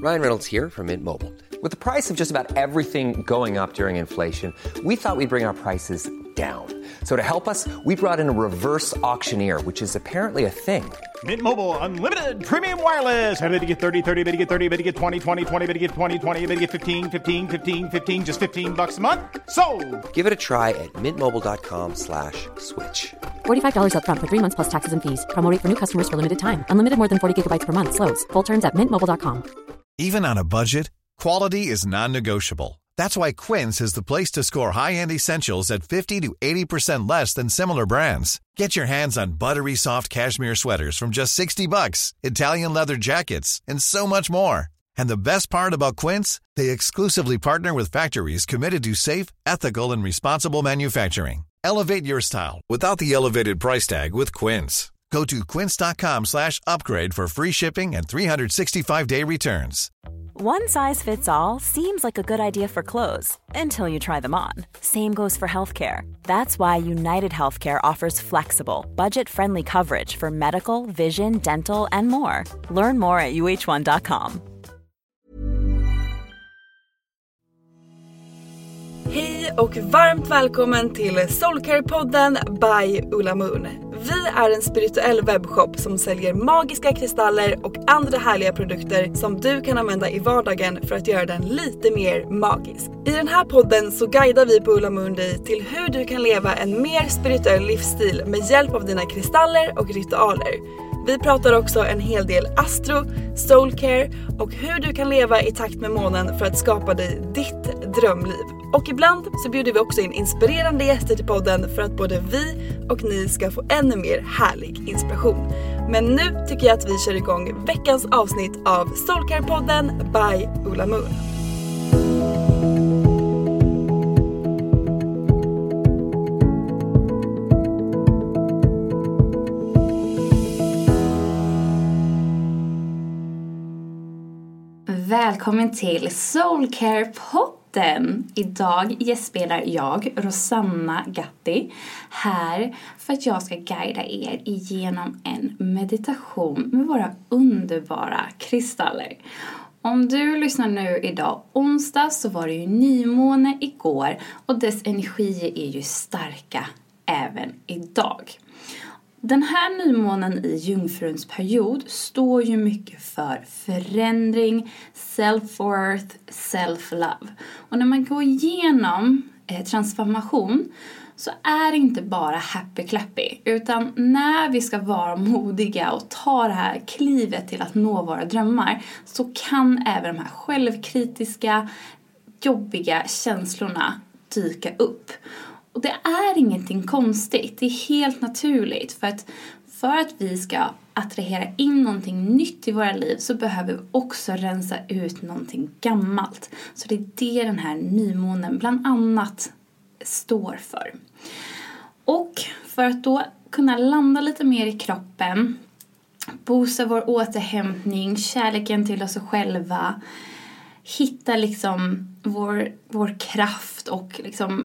Ryan Reynolds here from Mint Mobile. With the price of just about everything going up during inflation, we thought we'd bring our prices down. So to help us, we brought in a reverse auctioneer, which is apparently a thing. Mint Mobile Unlimited Premium Wireless. How to get 30, 30, bit to get 30, bit to get 20, 20, 20, bit to get 20, 20, bit to get 15, 15, 15, 15, just $15 a month? Sold! Give it a try at mintmobile.com/switch. $45 up front for 3 months plus taxes and fees. Promo rate for new customers for limited time. Unlimited more than 40 gigabytes per month. Slows full terms at mintmobile.com. Even on a budget, quality is non-negotiable. That's why Quince is the place to score high-end essentials at 50 to 80% less than similar brands. Get your hands on buttery soft cashmere sweaters from just $60, Italian leather jackets, and so much more. And the best part about Quince, they exclusively partner with factories committed to safe, ethical, and responsible manufacturing. Elevate your style without the elevated price tag with Quince. Go to quince.com/upgrade for free shipping and 365-day returns. One size fits all seems like a good idea for clothes until you try them on. Same goes for healthcare. That's why United Healthcare offers flexible, budget-friendly coverage for medical, vision, dental, and more. Learn more at uh1.com. Hej och varmt välkommen till Soulcare-podden by Ulla Moon. Vi är en spirituell webbshop som säljer magiska kristaller och andra härliga produkter som du kan använda i vardagen för att göra den lite mer magisk. I den här podden så guidar vi på Ulla Moon dig till hur du kan leva en mer spirituell livsstil med hjälp av dina kristaller och ritualer. Vi pratar också en hel del astro, soulcare och hur du kan leva i takt med månen för att skapa dig ditt drömliv. Och ibland så bjuder vi också in inspirerande gäster till podden för att både vi och ni ska få ännu mer härlig inspiration. Men nu tycker jag att vi kör igång veckans avsnitt av Soulcare-podden by Ulla Moon. Välkommen till Soulcare-podden. Idag gästspelar jag, Rosanna Gatti, här för att jag ska guida er igenom en meditation med våra underbara kristaller. Om du lyssnar nu idag onsdag så var det ju nymåne igår och dess energier är ju starka även idag. Den här nymånen i jungfruns period står ju mycket för förändring, self-worth, self-love. Och när man går igenom transformation så är det inte bara happy-clappy. Utan när vi ska vara modiga och ta det här klivet till att nå våra drömmar så kan även de här självkritiska, jobbiga känslorna dyka upp. Och det är ingenting konstigt, det är helt naturligt för att vi ska attrahera in någonting nytt i våra liv så behöver vi också rensa ut någonting gammalt. Så det är det den här nymånen bland annat står för. Och för att då kunna landa lite mer i kroppen, boosta vår återhämtning, kärleken till oss själva, hitta liksom vår kraft och liksom.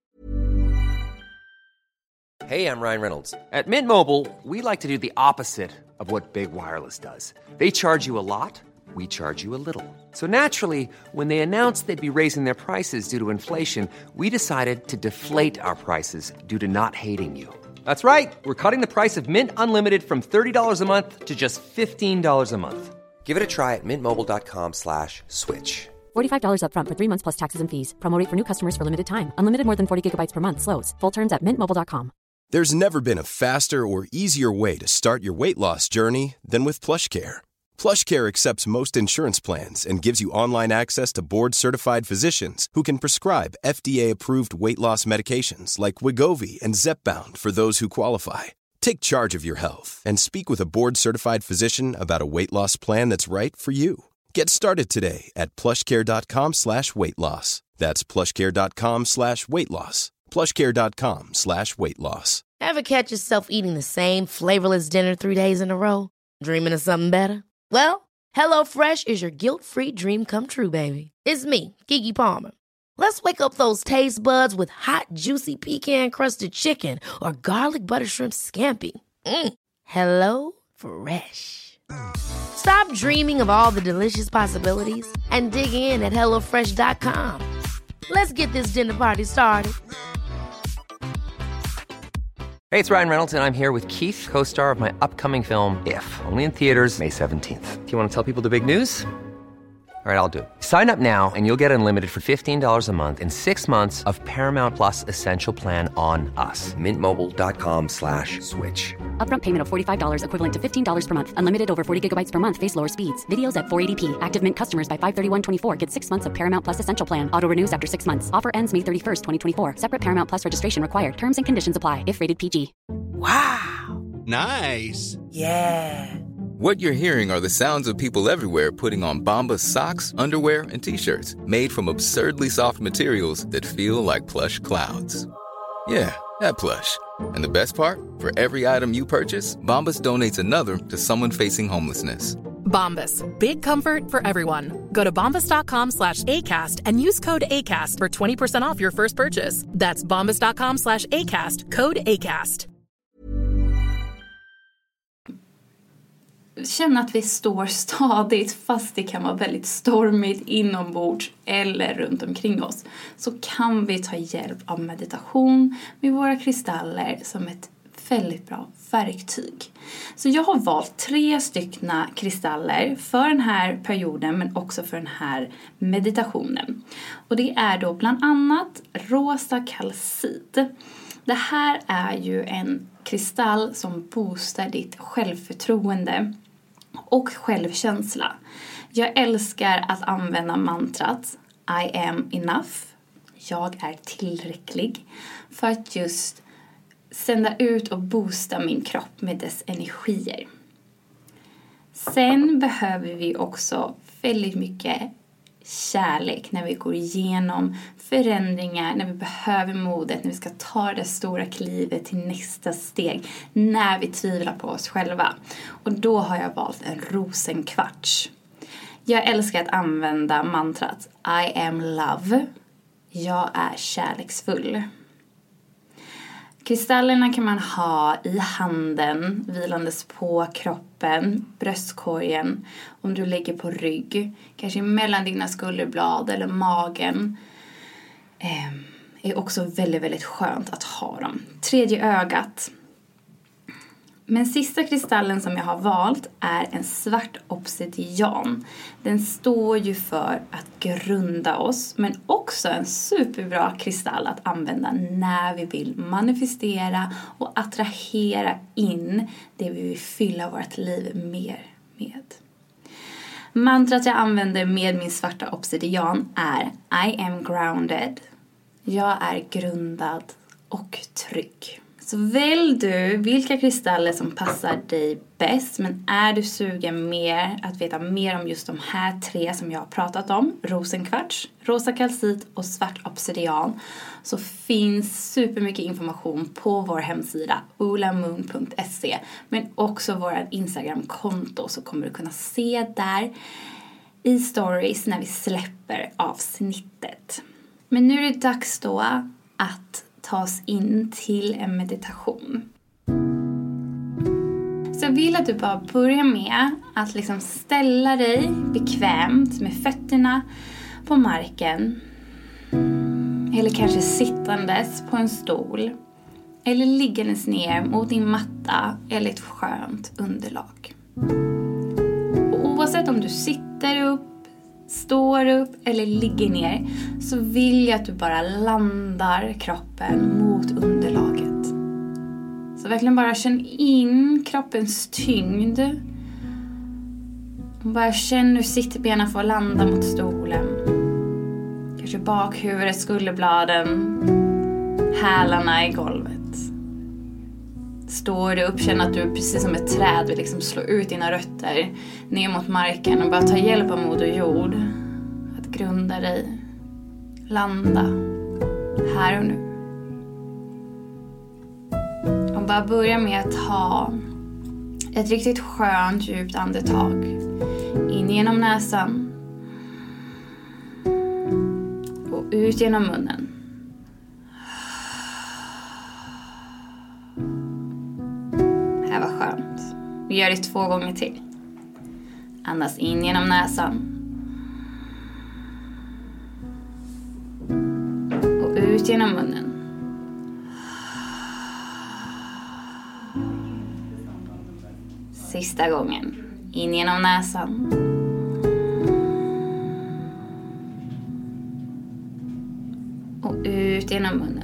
Hey, I'm Ryan Reynolds. At Mint Mobile, we like to do the opposite of what Big Wireless does. They charge you a lot, we charge you a little. So naturally, when they announced they'd be raising their prices due to inflation, we decided to deflate our prices due to not hating you. That's right. We're cutting the price of Mint Unlimited from $30 a month to just $15 a month. Give it a try at mintmobile.com/switch. $45 up front for 3 months plus taxes and fees. Promo rate for new customers for limited time. Unlimited more than 40 gigabytes per month. Slows full terms at mintmobile.com. There's never been a faster or easier way to start your weight loss journey than with PlushCare. PlushCare accepts most insurance plans and gives you online access to board-certified physicians who can prescribe FDA-approved weight loss medications like Wegovy and Zepbound for those who qualify. Take charge of your health and speak with a board-certified physician about a weight loss plan that's right for you. Get started today at plushcare.com/weightloss. That's plushcare.com/weightloss. plushcare.com/weightloss. Ever catch yourself eating the same flavorless dinner 3 days in a row? Dreaming of something better? Well, HelloFresh is your guilt-free dream come true, baby. It's me, Keke Palmer. Let's wake up those taste buds with hot, juicy pecan-crusted chicken or garlic butter shrimp scampi. Hello Fresh. Stop dreaming of all the delicious possibilities and dig in at HelloFresh.com. Let's get this dinner party started. Hey, it's Ryan Reynolds, and I'm here with Keith, co-star of my upcoming film, If, only in theaters May 17th. Do you want to tell people the big news? All right, I'll do it. Sign up now and you'll get unlimited for $15 a month and 6 months of Paramount Plus Essential Plan on us. MintMobile.com/switch. Upfront payment of $45 equivalent to $15 per month. Unlimited over 40 gigabytes per month. Face lower speeds. Videos at 480p. Active Mint customers by 531.24 get 6 months of Paramount Plus Essential Plan. Auto renews after 6 months. Offer ends May 31st, 2024. Separate Paramount Plus registration required. Terms and conditions apply if rated PG. Wow. Nice. Yeah. What you're hearing are the sounds of people everywhere putting on Bombas socks, underwear, and T-shirts made from absurdly soft materials that feel like plush clouds. Yeah, that plush. And the best part? For every item you purchase, Bombas donates another to someone facing homelessness. Bombas. Big comfort for everyone. Go to bombas.com/ACAST and use code ACAST for 20% off your first purchase. That's bombas.com/ACAST. Code ACAST. Känna att vi står stadigt fast det kan vara väldigt stormigt inombords eller runt omkring oss, så kan vi ta hjälp av meditation med våra kristaller som ett väldigt bra verktyg. Så jag har valt 3 styckna kristaller för den här perioden men också för den här meditationen. Och det är då bland annat rosa kalcit. Det här är ju en kristall som boostar ditt självförtroende och självkänsla. Jag älskar att använda mantrat I am enough. Jag är tillräcklig. För att just sända ut och boosta min kropp med dess energier. Sen behöver vi också väldigt mycket kärlek när vi går igenom förändringar, när vi behöver modet, när vi ska ta det stora klivet till nästa steg, när vi tvivlar på oss själva. Och då har jag valt en rosenkvarts. Jag älskar att använda mantrat I am love. Jag är kärleksfull. Kristallerna kan man ha i handen, vilandes på kroppen, bröstkorgen, om du ligger på rygg, kanske mellan dina skulderblad eller magen. Är också väldigt, väldigt skönt att ha dem. 3:e ögat. Men sista kristallen som jag har valt är en svart obsidian. Den står ju för att grunda oss, men också en superbra kristall att använda när vi vill manifestera och attrahera in det vi vill fylla vårt liv mer med. Mantrat jag använder med min svarta obsidian är I am grounded. Jag är grundad och trygg. Så välj du vilka kristaller som passar dig bäst. Men är du sugen mer att veta mer om just de här 3 som jag har pratat om, rosenkvarts, rosa kalcit och svart obsidian, så finns supermycket information på vår hemsida ulamoon.se, men också vårt Instagram-konto, så kommer du kunna se där i stories när vi släpper avsnittet. Men nu är det dags då att ta oss in till en meditation. Så jag vill att du bara börjar med att liksom ställa dig bekvämt med fötterna på marken. Eller kanske sittandes på en stol. Eller liggandes ner mot din matta eller ett skönt underlag. Och oavsett om du sitter upp, står upp eller ligger ner, så vill jag att du bara landar kroppen mot underlaget. Så verkligen bara känn in kroppens tyngd. Och bara känn hur sittbenen får landa mot stolen. Kanske bakhuvudet, skulderbladen, hälarna i golvet. Står du upp, känn att du precis som ett träd vill liksom slå ut dina rötter ner mot marken och bara ta hjälp av moder jord att grunda dig, landa här och nu. Och bara börja med att ta ett riktigt skönt djupt andetag in genom näsan och ut genom munnen. Det här var skönt. Vi gör det 2 gånger till. Andas in genom näsan. Och ut genom munnen. Sista gången. In genom näsan. Och ut genom munnen.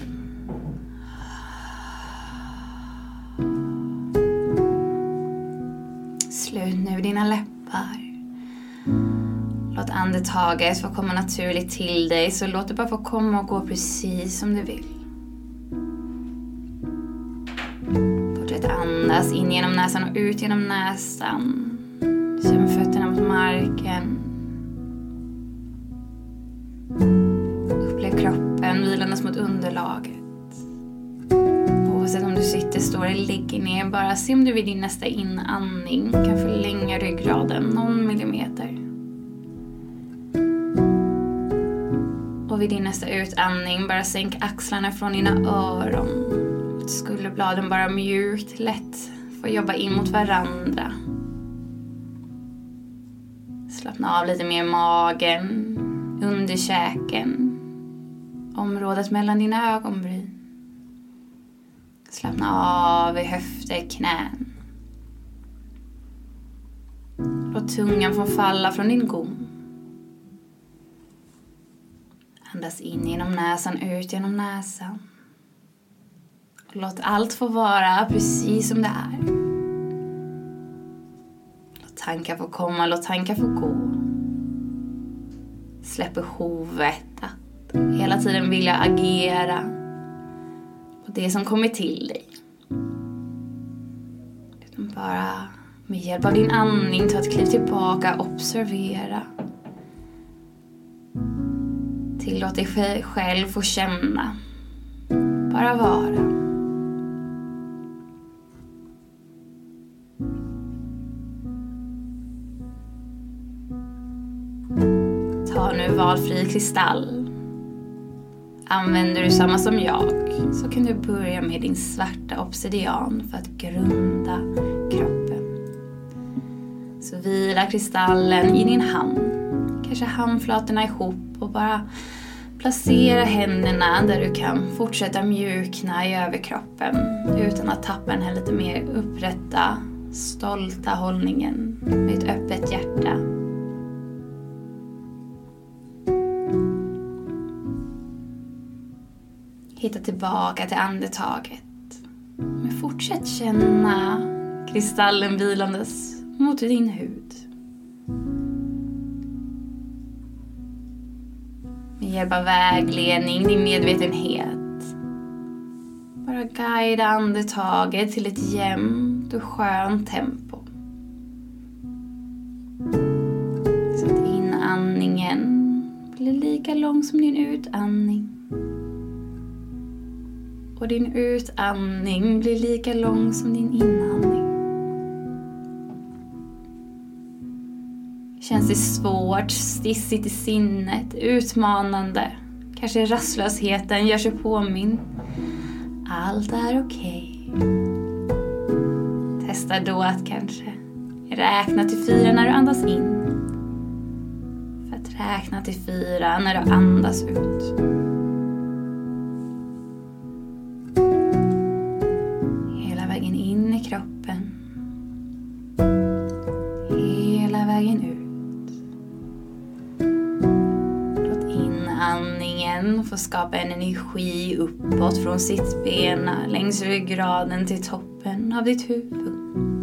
Slut nu dina läppar. Låt andetaget få komma naturligt till dig. Så låt det bara få komma och gå precis som du vill. Fortsätt andas in genom näsan och ut genom näsan. Känn fötterna mot marken. Upplev kroppen vilandes mot underlaget. Oavsett om du sitter, står eller ligger ner, bara se om du vid din nästa inandning kan förlänga ryggraden någon millimeter. Och vid din nästa utandning bara sänk axlarna från dina öron. Skulderbladen bara mjukt, lätt får jobba in mot varandra. Slappna av lite mer i magen, underkäken, området mellan dina ögonbryn. Slappna av i höfter, knän. Låt tungan få falla från din gom. Andas in genom näsan, ut genom näsan. Och låt allt få vara precis som det är. Låt tankar få komma, låt tankar få gå. Släpp behovet att hela tiden vilja agera på det som kommer till dig. Utan bara med hjälp av din andning ta ett kliv tillbaka, observera. Tillåt dig själv få känna. Bara vara. Ta nu valfri kristall. Använder du samma som jag så kan du börja med din svarta obsidian för att grunda kroppen. Så vila kristallen i din hand. Kanske handflatorna ihop och bara placera händerna där du kan fortsätta mjukna i överkroppen utan att tappa den här lite mer upprätta, stolta hållningen med ett öppet hjärta. Hitta tillbaka till andetaget. Men fortsätt känna kristallen vilandes mot din hud. Med hjälp av vägledning, din medvetenhet. Bara guida andetaget till ett jämnt och skönt tempo. Så att inandningen blir lika lång som din utandning. Och din utandning blir lika lång som din inandning. Känns det svårt, stissigt i sinnet, utmanande. Kanske rastlösheten gör sig påminn. Allt är okej. Testa då att kanske räkna till 4 när du andas in. För att räkna till 4 när du andas ut. Hela vägen in i kroppen. Hela vägen ut. Andningen får skapa en energi uppåt från sittbena längs ryggraden till toppen av ditt huvud.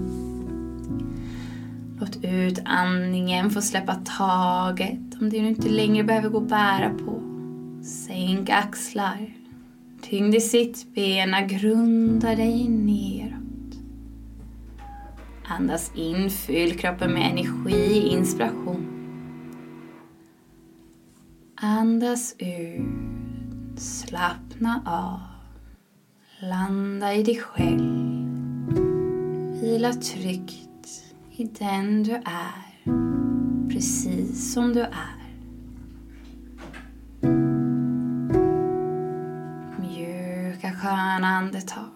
Låt utandningen få släppa taget om det du inte längre behöver gå och bära på. Sänk axlar. Tyngd i sittbena, grunda dig neråt. Andas in, fyll kroppen med energi, inspiration. Andas ut, slappna av, landa i dig själv, vila tryggt i den du är, precis som du är. Mjuka sköna andetag,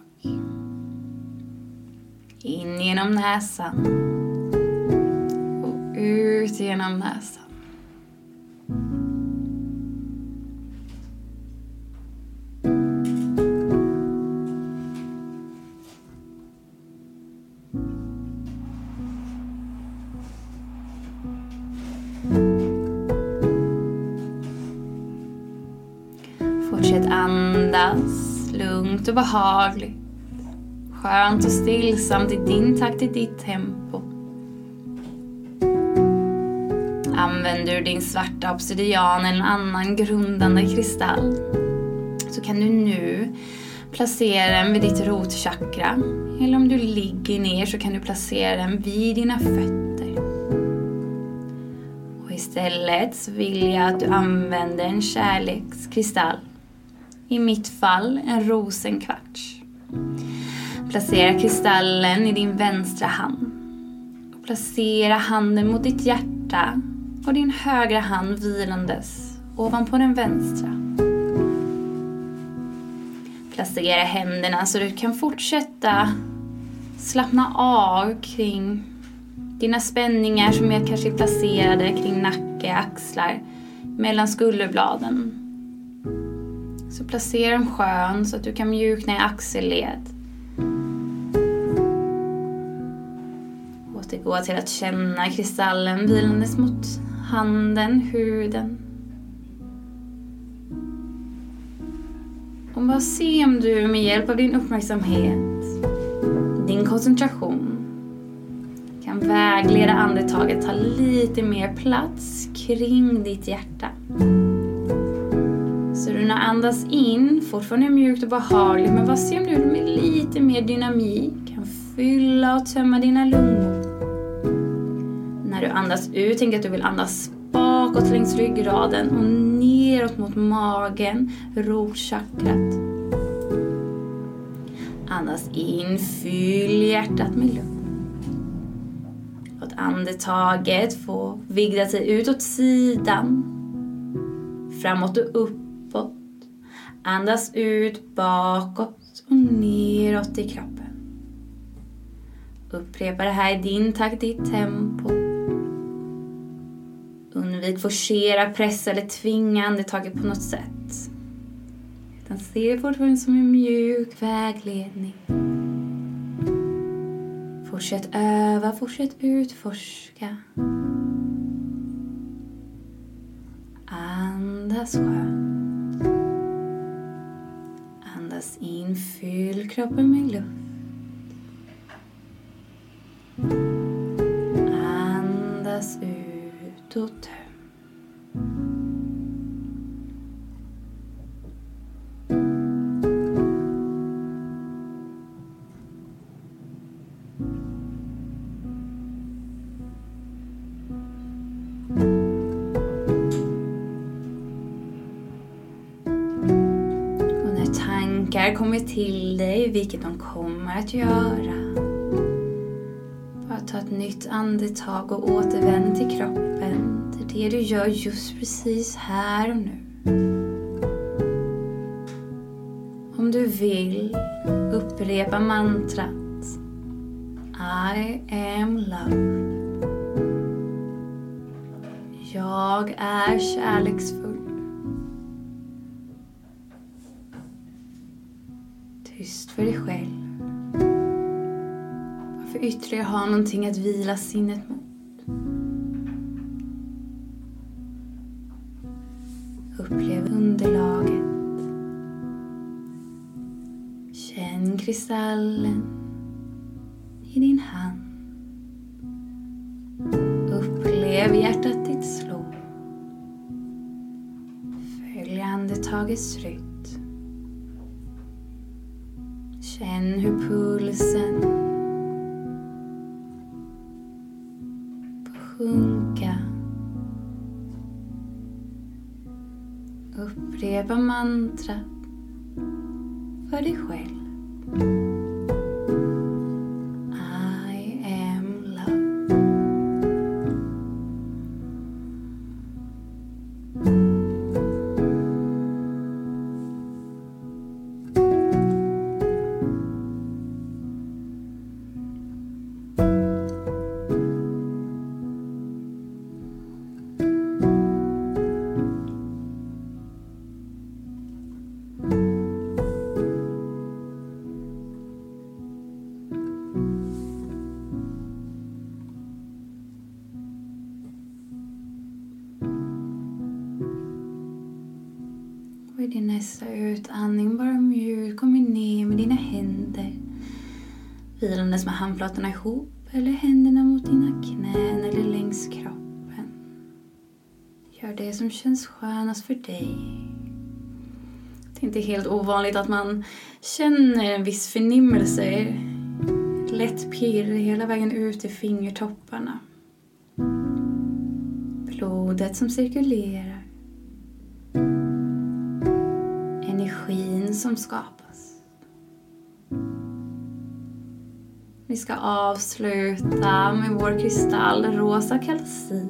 in genom näsan och ut ut genom näsan. Fortsätt andas lugnt och behagligt. Skönt och stillsamt i din takt, i ditt tempo. Använder du din svarta obsidian eller en annan grundande kristall, så kan du nu placera den vid ditt rotchakra. Eller om du ligger ner så kan du placera den vid dina fötter. Och istället så vill jag att du använder en kärlekskristall. I mitt fall en rosenkvarts. Placera kristallen i din vänstra hand. Och placera handen mot ditt hjärta och din högra hand vilandes ovanpå den vänstra. Placera händerna så du kan fortsätta slappna av kring dina spänningar som är kanske placerade kring nacke, axlar, mellan skulderbladen. Så placera dem skön så att du kan mjukna i axelled. Återgå till att känna kristallen vilandes mot handen, huden. Och bara se om du med hjälp av din uppmärksamhet, din koncentration, kan vägleda andetaget, ta lite mer plats kring ditt hjärta. Så du när andas in, fortfarande mjukt och behagligt, men bara se om du med lite mer dynamik kan fylla och tömma dina lungor. När du andas ut, tänk att du vill andas bakåt längs ryggraden och neråt mot magen, rotchakrat. Andas in, fyll hjärtat med luft. Låt andetaget få vigda sig utåt sidan, framåt och uppåt. Andas ut bakåt och neråt i kroppen. Upprepa det här i din takt, ditt tempo. Undvik forcera, pressa eller tvinga andetaget på något sätt. Utan se det fortfarande som en mjuk vägledning. Fortsätt öva, fortsätt utforska. Andas skönt. Andas in, fyll kroppen med luft. Andas ut och töm. Kommer till dig, vilket de kommer att göra. Bara ta ett nytt andetag och återvänd till kroppen, till det du gör just precis här och nu. Om du vill, upprepa mantrat I am love. Jag är kärleksfull. Tyst för dig själv. Varför ytterligare ha någonting att vila sinnet mot? Upplev underlaget. Känn kristallen i din hand. Upplev hjärtat ditt slå. Följ andetagets rytm. Känn hur pulsen får sjunka. Upprepa mantrat för dig själv. I am love. vid din nästa utandning bara mjukt kommer ner med dina händer. Vilandes med handflatorna ihop eller händerna mot dina knän eller längs kroppen. Gör det som känns skönast för dig. Det är inte helt ovanligt att man känner en viss förnimmelse. Lätt pirr hela vägen ut i fingertopparna. Blodet som cirkulerar. Energin som skapas. Vi ska avsluta med vår kristall rosa kalcit.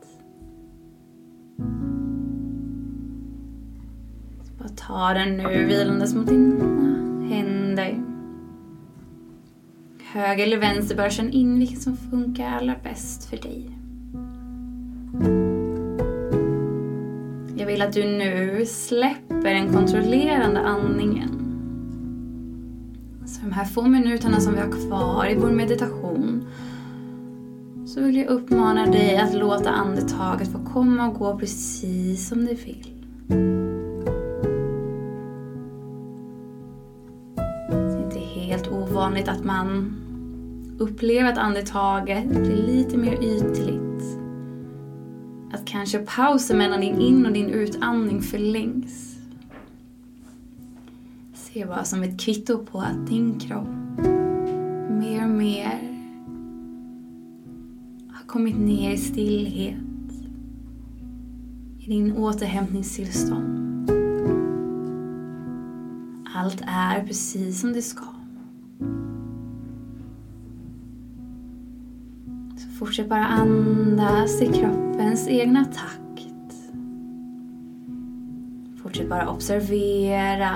Bara ta den nu vilandes mot dina händer. Höger eller vänster, bara känn in vilket som funkar allra bäst för dig. Jag vill att du nu släpper den kontrollerande andningen. Så de här få minuterna som vi har kvar i vår meditation, så vill jag uppmana dig att låta andetaget få komma och gå precis som det vill. Det är inte helt ovanligt att man upplever att andetaget blir lite mer ytligt. Att kanske pausen mellan din in- och din utandning förlängs. Se bara som ett kvitto på att din kropp mer och mer har kommit ner i stillhet. I din återhämtningstillstånd. Allt är precis som det ska. Så fortsätt bara andas i kroppens egna takt. Fortsätt bara observera.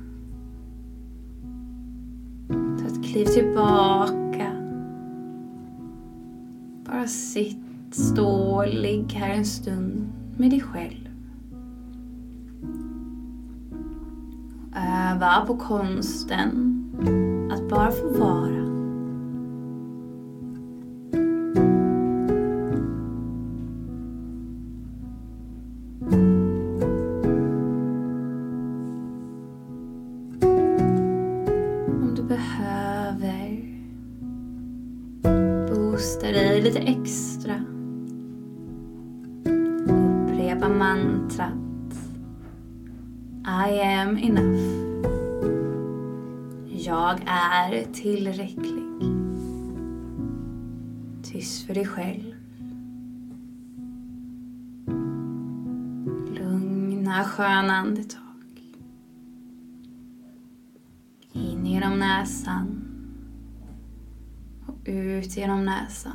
Ta ett kliv tillbaka. Bara sitt, stå, ligg här en stund med dig själv. Öva på konsten att bara få vara. Om du behöver boosta dig lite extra, upprepa mantrat I am enough. Jag är tillräcklig. Tyst för dig själv. Lugna, sköna andetag. In genom näsan. Och ut genom näsan.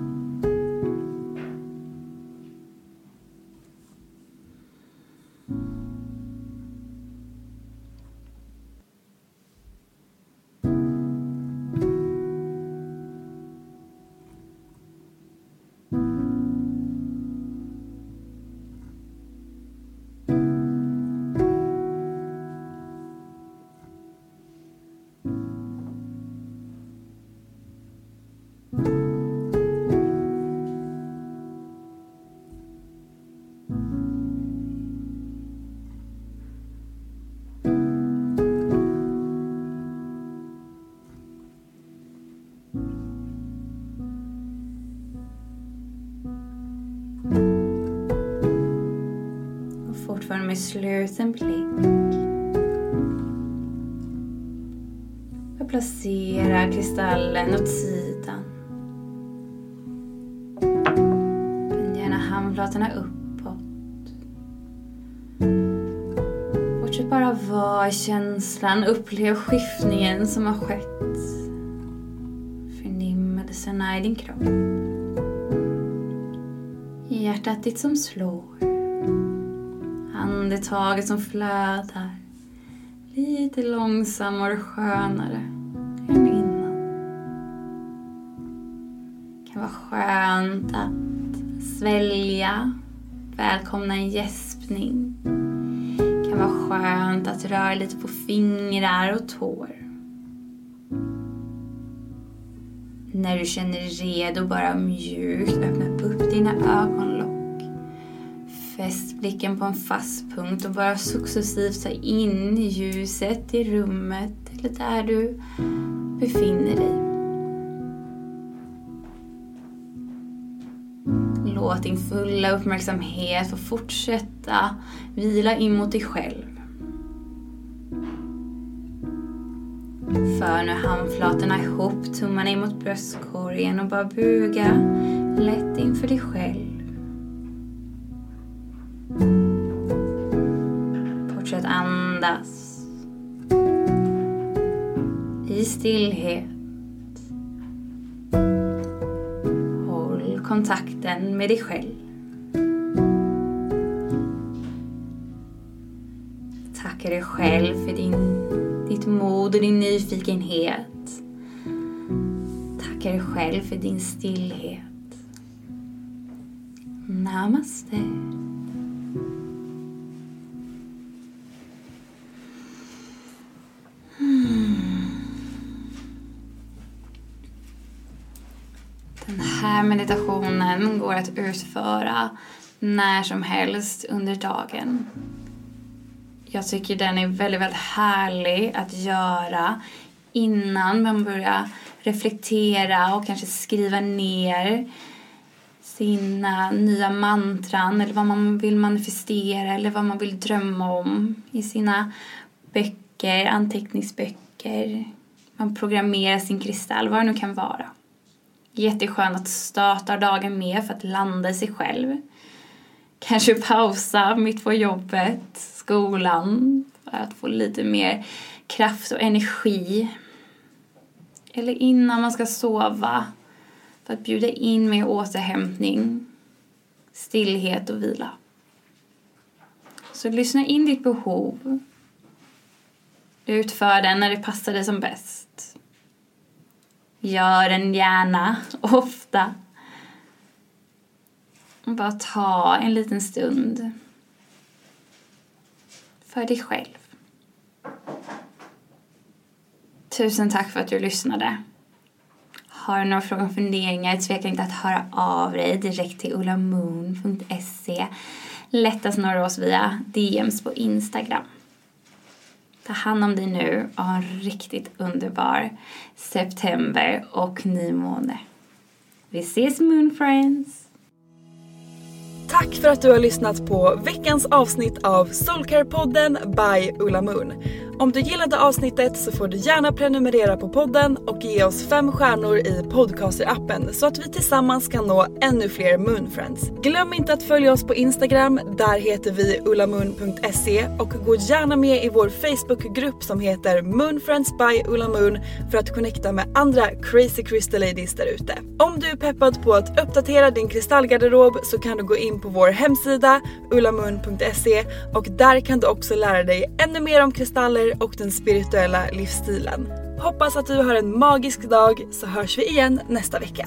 Fortfarande med sluten blick. Jag placerar kristallen åt sidan. Vänd gärna handflatorna uppåt. Fortsätt bara vara i känslan. Upplev skiftningen som har skett. Förnimmelserna i din kropp. Hjärtat ditt som slår. Andetaget som flödar lite långsammare och skönare än innan. Det kan vara skönt att svälja, välkomna en gäspning. Det kan vara skönt att röra lite på fingrar och tår. När du känner redo, bara mjukt öppna upp dina ögonlock. Fäst blicken på en fast punkt och bara successivt ta in ljuset i rummet eller där du befinner dig. Låt din fulla uppmärksamhet få fortsätta vila in mot dig själv. För nu handflatorna ihop, tummarna in mot bröstkorgen och bara buga lätt inför dig själv. Fortsätt andas i stillhet. Håll kontakten med dig själv. Tacka dig själv för ditt mod och din nyfikenhet. Tacka dig själv för din stillhet. Namaste. Den här meditationen går att utföra när som helst under dagen. Jag tycker den är väldigt, väldigt härlig att göra innan man börjar reflektera och kanske skriva ner sina nya mantran eller vad man vill manifestera eller vad man vill drömma om i sina böcker, anteckningsböcker. Man programmerar sin kristall, vad det nu kan vara. Jätteskönt att starta dagen med för att landa i sig själv. Kanske pausa mitt på jobbet, skolan, för att få lite mer kraft och energi. Eller innan man ska sova, för att bjuda in med återhämtning, stillhet och vila. Så lyssna in ditt behov. Utför den när det passar dig som bäst. Gör den gärna, ofta. Bara ta en liten stund för dig själv. Tusen tack för att du lyssnade. Har du några frågor och funderingar, tveka inte att höra av dig direkt till ulamoon.se. Lättast når oss via DMs på Instagram. Ta hand om dig nu och ha en riktigt underbar september och nymåne. Vi ses, Moon Friends! Tack för att du har lyssnat på veckans avsnitt av Soulcare-podden by Ulla Moon. Om du gillade avsnittet så får du gärna prenumerera på podden och ge oss 5 stjärnor i podcaster-appen så att vi tillsammans kan nå ännu fler Moonfriends. Glöm inte att följa oss på Instagram, där heter vi ulamoon.se, och gå gärna med i vår Facebookgrupp som heter Moonfriends by Ulla Moon för att connecta med andra crazy crystal ladies där ute. Om du är peppad på att uppdatera din kristallgarderob så kan du gå in på vår hemsida ulamoon.se, och där kan du också lära dig ännu mer om kristaller och den spirituella livsstilen. Hoppas att du har en magisk dag, så hörs vi igen nästa vecka.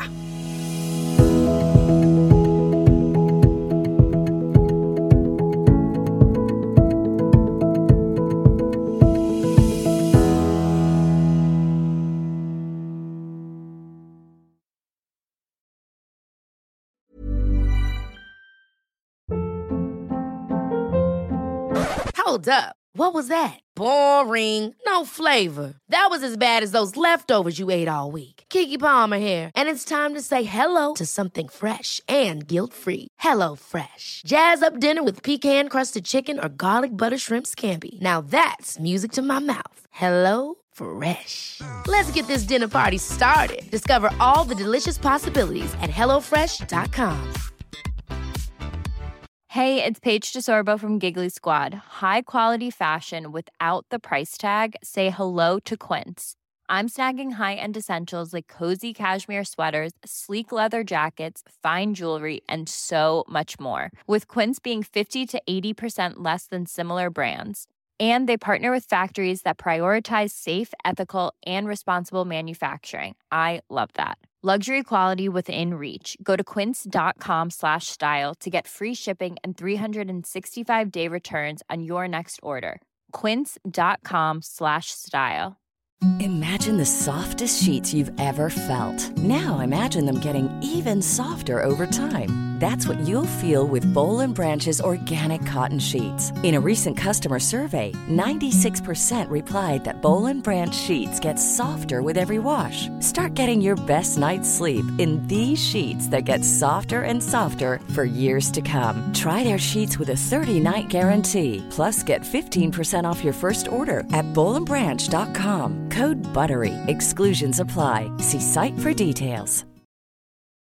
Hold up. What was that? Boring. No flavor. That was as bad as those leftovers you ate all week. Keke Palmer here. And it's time to say hello to something fresh and guilt-free. Hello Fresh. Jazz up dinner with pecan-crusted chicken or garlic butter shrimp scampi. Now that's music to my mouth. Hello Fresh. Let's get this dinner party started. Discover all the delicious possibilities at hellofresh.com. Hey, it's Paige DeSorbo from Giggly Squad. High quality fashion without the price tag. Say hello to Quince. I'm snagging high-end essentials like cozy cashmere sweaters, sleek leather jackets, fine jewelry, and so much more. With Quince being 50 to 80% less than similar brands. And they partner with factories that prioritize safe, ethical, and responsible manufacturing. I love that. Luxury quality within reach. Go to quince.com/style to get free shipping and 365-day returns on your next order. Quince.com/style. Imagine the softest sheets you've ever felt. Now imagine them getting even softer over time. That's what you'll feel with Boll & Branch's organic cotton sheets. In a recent customer survey, 96% replied that Boll & Branch sheets get softer with every wash. Start getting your best night's sleep in these sheets that get softer and softer for years to come. Try their sheets with a 30-night guarantee. Plus, get 15% off your first order at bollandbranch.com. Code BUTTERY. Exclusions apply. See site for details.